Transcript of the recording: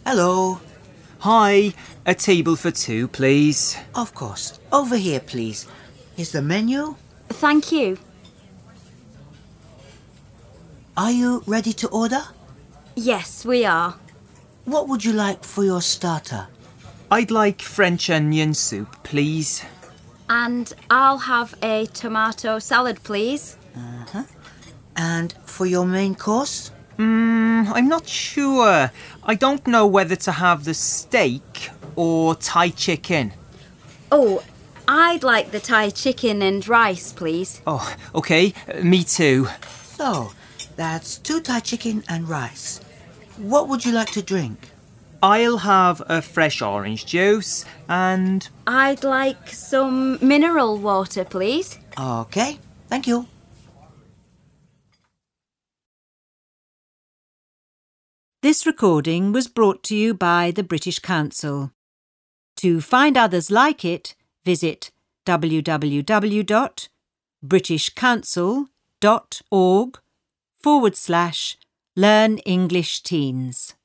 Hello. Hi, a table for two, please. Of course. Over here, please. Here's the menu. Thank you. Are you ready to order? Yes, we are. What would you like for your starter? I'd like French onion soup, please. And I'll have a tomato salad, please. And for your main course? I'm not sure. I don't know whether to have the steak or Thai chicken. Oh, I'd like the Thai chicken and rice, please. Oh, OK, me too. So, that's 2 Thai chicken and rice. What would you like to drink? I'll have a fresh orange juice and... I'd like some mineral water, please. Okay, thank you. This recording was brought to you by the British Council. To find others like it, visit www.britishcouncil.org/Learn English Teens.